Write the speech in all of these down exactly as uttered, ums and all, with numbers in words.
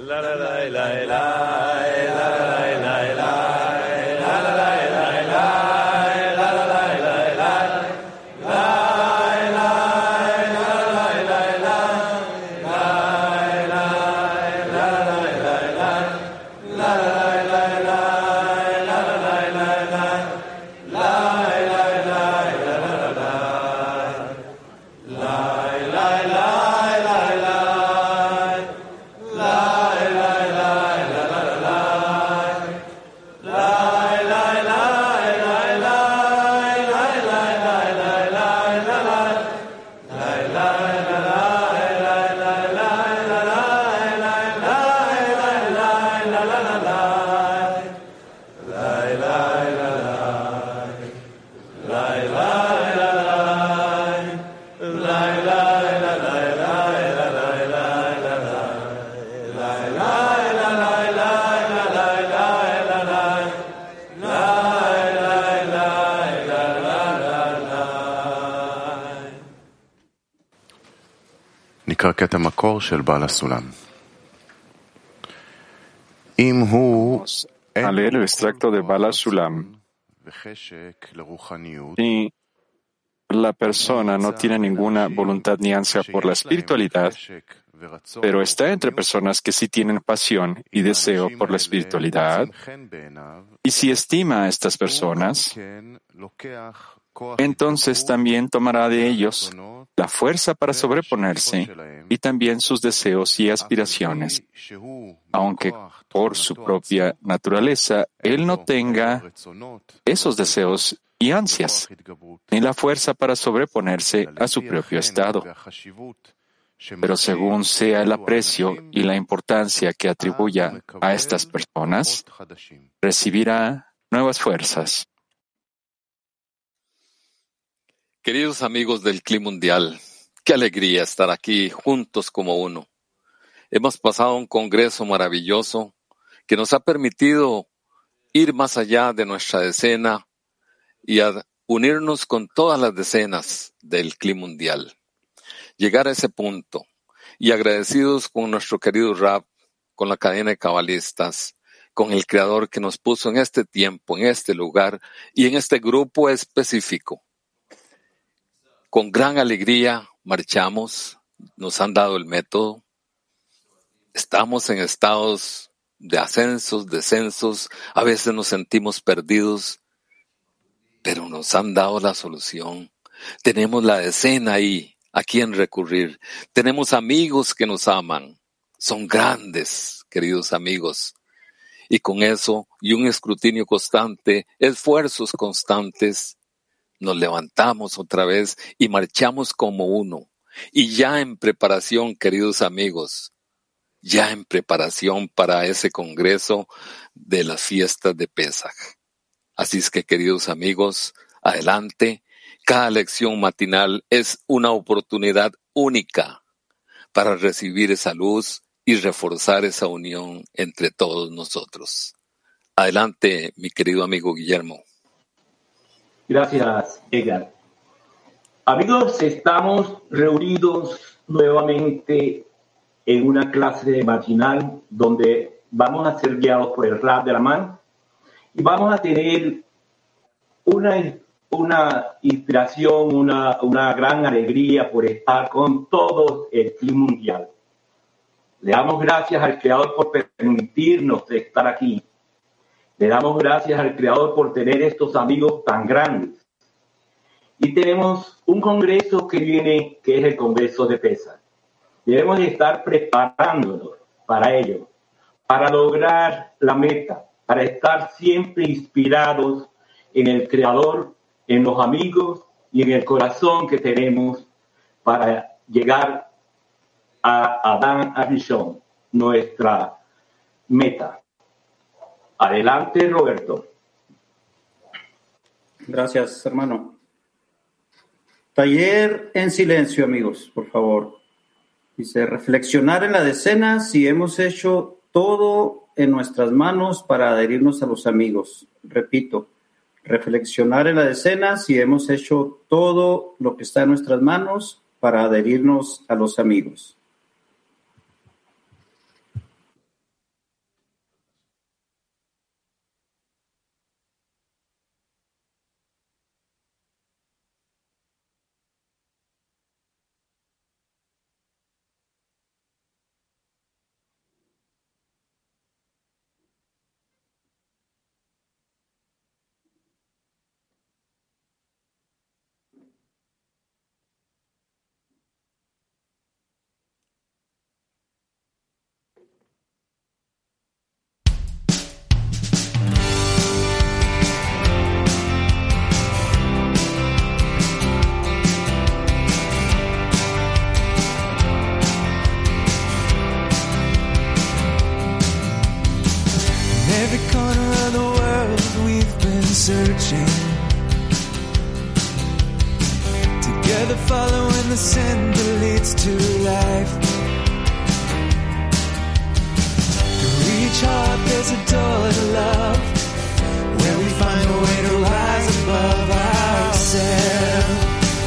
נקרא קטע מקור של בעל הסולם. אם הוא A leer el extracto de Bala Sulam. Si la persona no tiene ninguna voluntad ni ansia por la espiritualidad, pero está entre personas que sí tienen pasión y deseo por la espiritualidad, y si estima a estas personas, entonces también tomará de ellos la fuerza para sobreponerse y también sus deseos y aspiraciones, aunque por su propia naturaleza él no tenga esos deseos y ansias, ni la fuerza para sobreponerse a su propio estado. Pero según sea el aprecio y la importancia que atribuya a estas personas, recibirá nuevas fuerzas. Queridos amigos del Cli Mundial, qué alegría estar aquí juntos como uno. Hemos pasado un congreso maravilloso que nos ha permitido ir más allá de nuestra decena y a unirnos con todas las decenas del Cli Mundial. Llegar a ese punto y agradecidos con nuestro querido Rab, con la cadena de cabalistas, con el Creador que nos puso en este tiempo, en este lugar y en este grupo específico. Con gran alegría marchamos, nos han dado el método. Estamos en estados de ascensos, descensos, a veces nos sentimos perdidos, pero nos han dado la solución. Tenemos la decena ahí, a quien recurrir. Tenemos amigos que nos aman. Son grandes, queridos amigos. Y con eso, y un escrutinio constante, esfuerzos constantes, nos levantamos otra vez y marchamos como uno. Y ya en preparación, queridos amigos, ya en preparación para ese congreso de las fiestas de Pesaj. Así es que, queridos amigos, adelante. Cada lección matinal es una oportunidad única para recibir esa luz y reforzar esa unión entre todos nosotros. Adelante, mi querido amigo Guillermo. Gracias, Edgar. Amigos, estamos reunidos nuevamente en una clase matinal donde vamos a ser guiados por el Rab de la Man y vamos a tener una, una inspiración, una, una gran alegría por estar con todo el Cli Mundial. Le damos gracias al Creador por permitirnos estar aquí. Le damos gracias al Creador por tener estos amigos tan grandes. Y tenemos un congreso que viene, que es el Congreso de Pesaj. Debemos de estar preparándonos para ello, para lograr la meta, para estar siempre inspirados en el Creador, en los amigos y en el corazón que tenemos para llegar a Adán Arishon, nuestra meta. Adelante, Roberto. Gracias, hermano. Taller en silencio, amigos, por favor. Dice, reflexionar en la decena si hemos hecho todo en nuestras manos para adherirnos a los amigos. Repito, reflexionar en la decena si hemos hecho todo lo que está en nuestras manos para adherirnos a los amigos. every corner of the world we've been searching, together following the sin that leads to life. To reach heart, there's a door to love, where we find a way to rise above ourselves.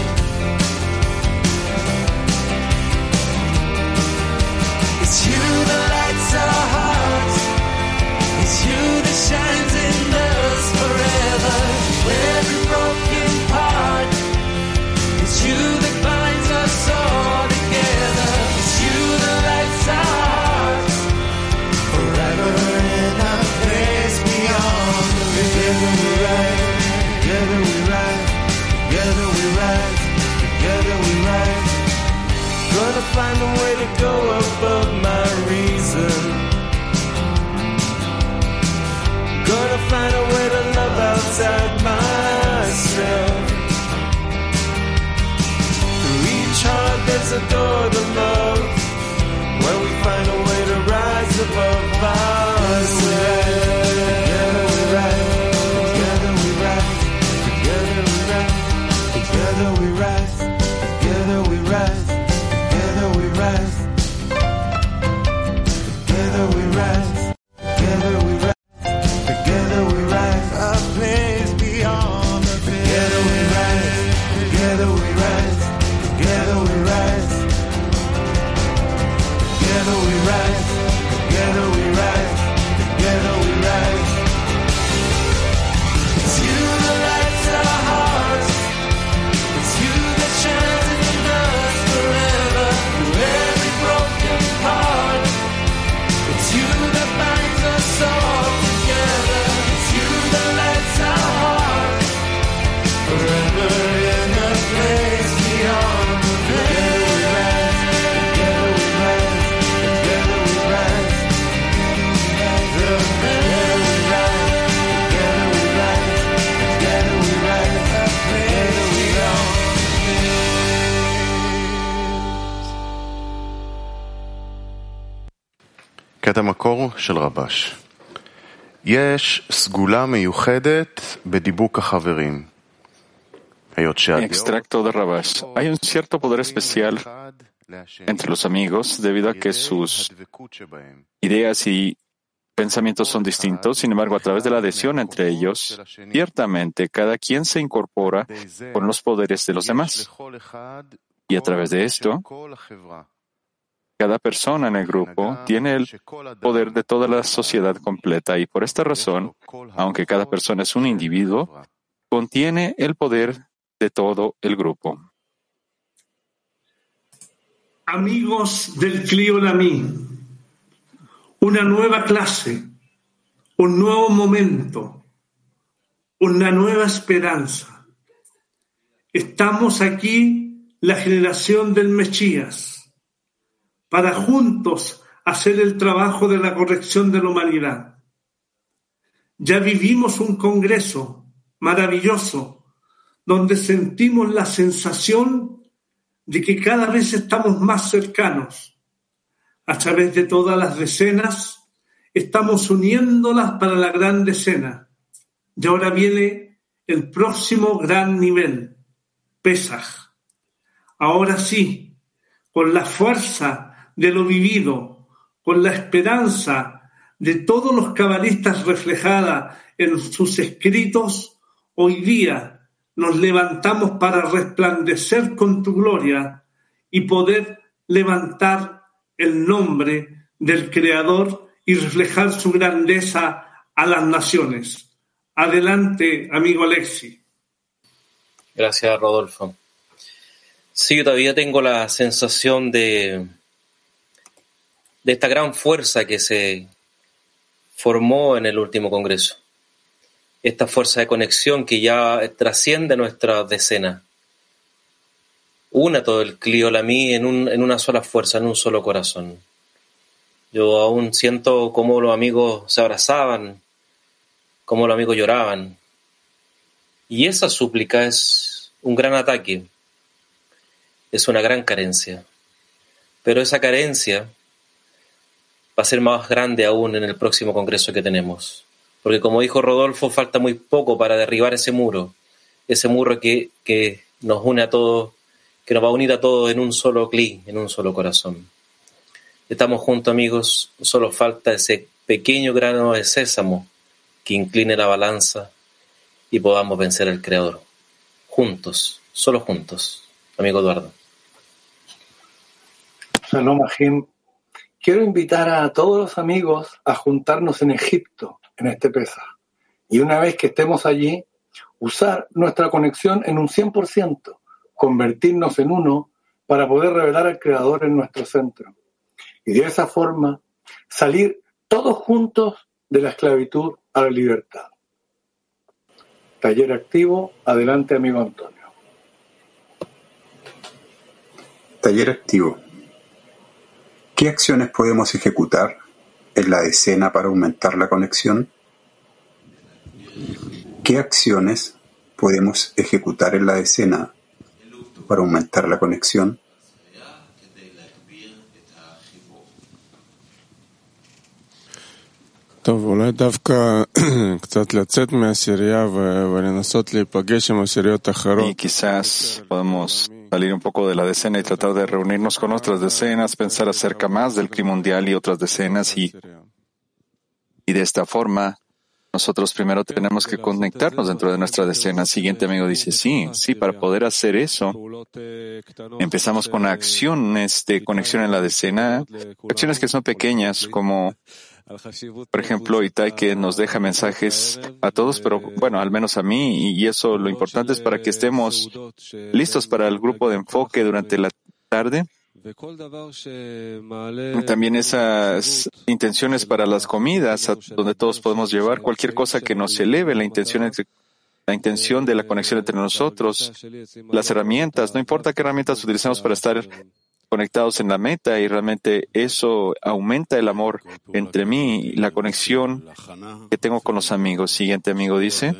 It's you that lights our hearts, it's you that shines in us forever. Every broken part, it's you that binds us all together. It's you that lights our hearts, forever in a place beyond the veil. Together we rise, together we rise, together we rise, together we rise. Gonna find a way to go above my reason. Gonna find a way to love outside myself. To reach hard, there's a door to love, where we find a way to rise above ourselves. Together we rise, together we rise, together we rise, together we rise, together we rise, together we rise, together we rise, together we rise. Together we rise, a place beyond the veil. Together we rise, together we rise, together we rise. Together we rise, together we rise, together we rise. It's you that lights our hearts, it's you that shines in us forever. Through every broken part, it's you that binds us all together. It's you that lights our heart, forever in a place beyond the veil. Together we rise, together we rise, together we rise, together we rise, together we rise, together we rise, a place beyond the veil. קטע מקור של רבש. יש סגולה מיוחדת בדיבוק החברים. היות שהדעות Extracto de Rabash. Hay un cierto poder especial entre los amigos debido a que sus ideas y pensamientos son distintos. Sin embargo, a través de la adhesión entre ellos, ciertamente cada quien se incorpora con los poderes de los demás. Y a través de esto, cada persona en el grupo tiene el poder de toda la sociedad completa y por esta razón, aunque cada persona es un individuo, contiene el poder de todo el grupo. Amigos del Kli Olamí, una nueva clase, un nuevo momento, una nueva esperanza. Estamos aquí, la generación del Mesías, para juntos hacer el trabajo de la corrección de la humanidad. Ya vivimos un congreso maravilloso donde sentimos la sensación de que cada vez estamos más cercanos. A través de todas las decenas, estamos uniéndolas para la gran decena. Y ahora viene el próximo gran nivel, Pesaj. Ahora sí, con la fuerza de lo vivido, con la esperanza de todos los cabalistas reflejada en sus escritos, hoy día nos levantamos para resplandecer con tu gloria y poder levantar el nombre del Creador y reflejar su grandeza a las naciones. Adelante, amigo Alexi. Gracias, Rodolfo. Sí, yo todavía tengo la sensación de, de esta gran fuerza que se formó en el último congreso. Esta fuerza de conexión que ya trasciende nuestra decena. Una todo el Kli Olamí en, un, en una sola fuerza, en un solo corazón. Yo aún siento cómo los amigos se abrazaban, cómo los amigos lloraban. Y esa súplica es un gran ataque. Es una gran carencia. Pero esa carencia va a ser más grande aún en el próximo congreso que tenemos. Porque como dijo Rodolfo, falta muy poco para derribar ese muro, ese muro que, que nos une a todos, que nos va a unir a todos en un solo cli, en un solo corazón. Estamos juntos, amigos, solo falta ese pequeño grano de sésamo que incline la balanza y podamos vencer al Creador. Juntos, solo juntos. Amigo Eduardo. Shalom Ajim. Quiero invitar a todos los amigos a juntarnos en Egipto en este Pesaj. Y una vez que estemos allí, usar nuestra conexión en un cien por ciento, convertirnos en uno para poder revelar al Creador en nuestro centro. Y de esa forma salir todos juntos de la esclavitud a la libertad. Taller activo, adelante amigo Antonio. Taller activo. ¿Qué acciones podemos ejecutar en la decena para aumentar la conexión? ¿Qué acciones podemos ejecutar en la decena para aumentar la conexión? Y quizás podemos salir un poco de la decena y tratar de reunirnos con otras decenas, pensar acerca más del Cli mundial y otras decenas, y, y de esta forma nosotros primero tenemos que conectarnos dentro de nuestra decena. Siguiente amigo dice, sí, sí, para poder hacer eso, empezamos con acciones de conexión en la decena, acciones que son pequeñas, como por ejemplo, Itai, que nos deja mensajes a todos, pero bueno, al menos a mí, y eso lo importante es para que estemos listos para el grupo de enfoque durante la tarde. También esas intenciones para las comidas, a donde todos podemos llevar cualquier cosa que nos eleve la intención entre la intención de la conexión entre nosotros, las herramientas, no importa qué herramientas utilicemos para estar conectados en la meta, y realmente eso aumenta el amor entre mí y la conexión que tengo con los amigos. Siguiente amigo dice,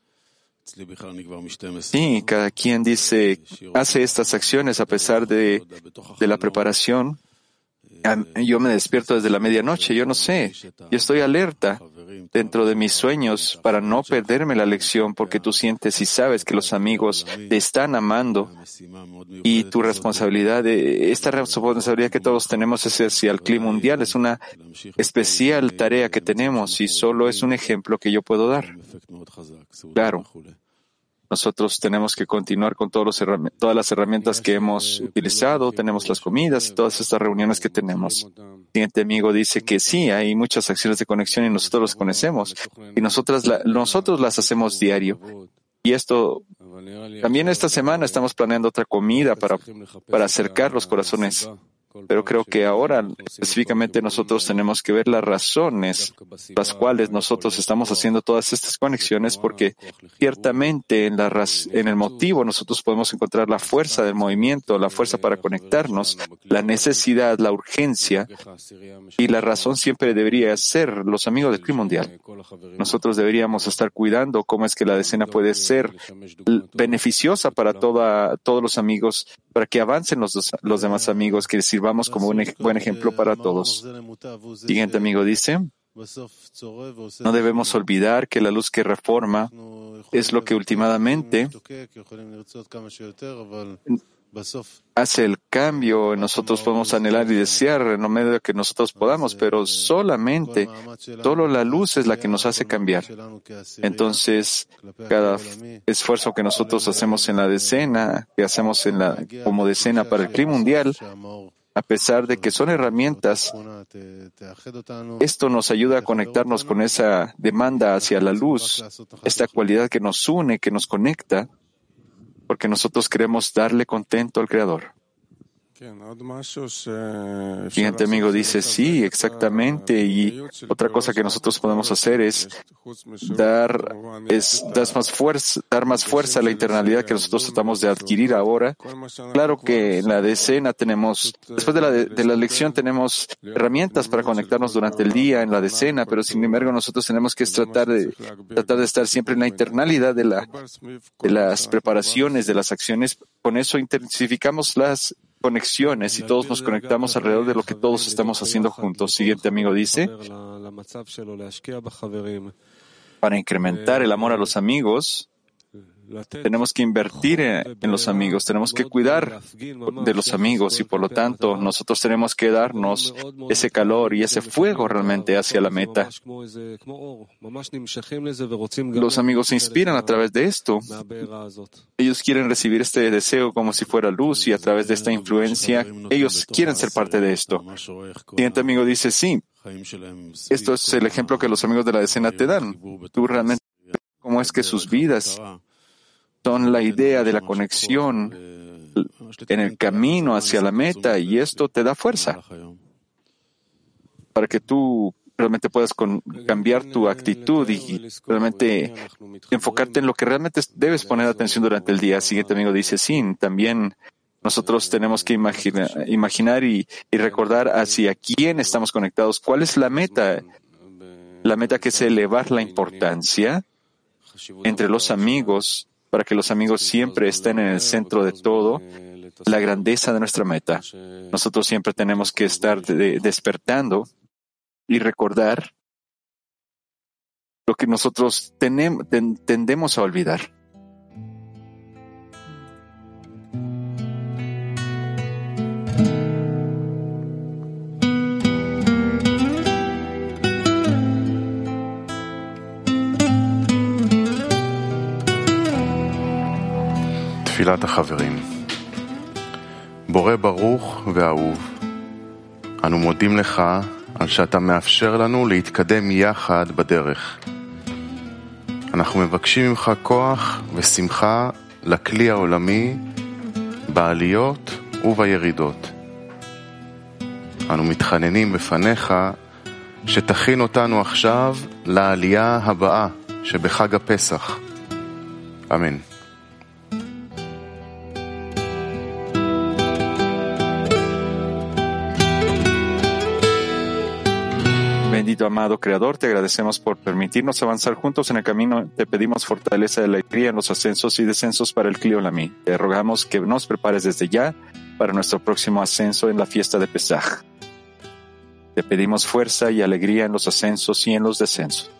sí, cada quien dice, hace estas acciones a pesar de, de la preparación. Yo me despierto desde la medianoche, yo no sé, yo estoy alerta dentro de mis sueños para no perderme la lección, porque tú sientes y sabes que los amigos te están amando, y tu responsabilidad, esta responsabilidad que todos tenemos es hacia el Cli mundial, es una especial tarea que tenemos y solo es un ejemplo que yo puedo dar. Claro. Nosotros tenemos que continuar con todos los herrami- todas las herramientas que hemos utilizado, tenemos las comidas y todas estas reuniones que tenemos. El siguiente amigo dice que sí, hay muchas acciones de conexión y nosotros las conocemos y nosotras la, nosotros las hacemos diario. Y esto, también esta semana estamos planeando otra comida para, para acercar los corazones. Pero creo que ahora específicamente nosotros tenemos que ver las razones las cuales nosotros estamos haciendo todas estas conexiones, porque ciertamente en, la raz- en el motivo nosotros podemos encontrar la fuerza del movimiento, la fuerza para conectarnos, la necesidad, la urgencia, y la razón siempre debería ser los amigos del Cli mundial. Nosotros deberíamos estar cuidando cómo es que la decena puede ser beneficiosa para toda, todos los amigos, para que avancen los, dos, los demás amigos, que sirvamos como un ej- buen ejemplo para todos. Siguiente amigo dice, no debemos olvidar que la luz que reforma es lo que últimamente hace el cambio. Nosotros podemos anhelar y desear en lo medio que nosotros podamos, pero solamente, solo la luz es la que nos hace cambiar. Entonces, cada esfuerzo que nosotros hacemos en la decena, que hacemos en la, como decena para el Cli mundial, a pesar de que son herramientas, esto nos ayuda a conectarnos con esa demanda hacia la luz, esta cualidad que nos une, que nos conecta, porque nosotros queremos darle contento al Creador. El siguiente amigo dice, sí, exactamente, y otra cosa que nosotros podemos hacer es dar, es dar más fuerza, dar más fuerza a la internalidad que nosotros tratamos de adquirir ahora. Claro que en la decena tenemos, después de la, de, de la lección tenemos herramientas para conectarnos durante el día en la decena, pero sin embargo nosotros tenemos que tratar de, tratar de estar siempre en la internalidad de, la, de las preparaciones, de las acciones. Con eso intensificamos las conexiones y todos nos conectamos alrededor de lo que todos estamos haciendo juntos. Siguiente amigo dice, Para incrementar el amor a los amigos, tenemos que invertir en los amigos, tenemos que cuidar de los amigos y por lo tanto nosotros tenemos que darnos ese calor y ese fuego realmente hacia la meta. Los amigos se inspiran a través de esto. Ellos quieren recibir este deseo como si fuera luz y a través de esta influencia ellos quieren ser parte de esto. El siguiente amigo dice, sí, esto es el ejemplo que los amigos de la decena te dan. Tú realmente cómo es que sus vidas son la idea de la conexión en el camino hacia la meta y esto te da fuerza para que tú realmente puedas con, cambiar tu actitud y realmente enfocarte en lo que realmente debes poner atención durante el día. El siguiente amigo dice, sí, también nosotros tenemos que imagina, imaginar y, y recordar hacia quién estamos conectados, cuál es la meta, la meta que es elevar la importancia entre los amigos para que los amigos siempre estén en el centro de todo, la grandeza de nuestra meta. Nosotros siempre tenemos que estar de, despertando y recordar lo que nosotros tenem, ten, tendemos a olvidar. תפילת החברים. בורא ברוך ואהוב, אנו מודים לך על שאתה מאפשר לנו להתקדם יחד בדרך. אנחנו מבקשים ממך כוח ושמחה לכלי העולמי בעליות ובירידות. אנו מתחננים בפניך שתכין אותנו עכשיו לעלייה הבאה שבחג הפסח. אמן. Bendito amado Creador, te agradecemos por permitirnos avanzar juntos en el camino. Te pedimos fortaleza y alegría en los ascensos y descensos para el Kli Olami. Te rogamos que nos prepares desde ya para nuestro próximo ascenso en la fiesta de Pesaj. Te pedimos fuerza y alegría en los ascensos y en los descensos.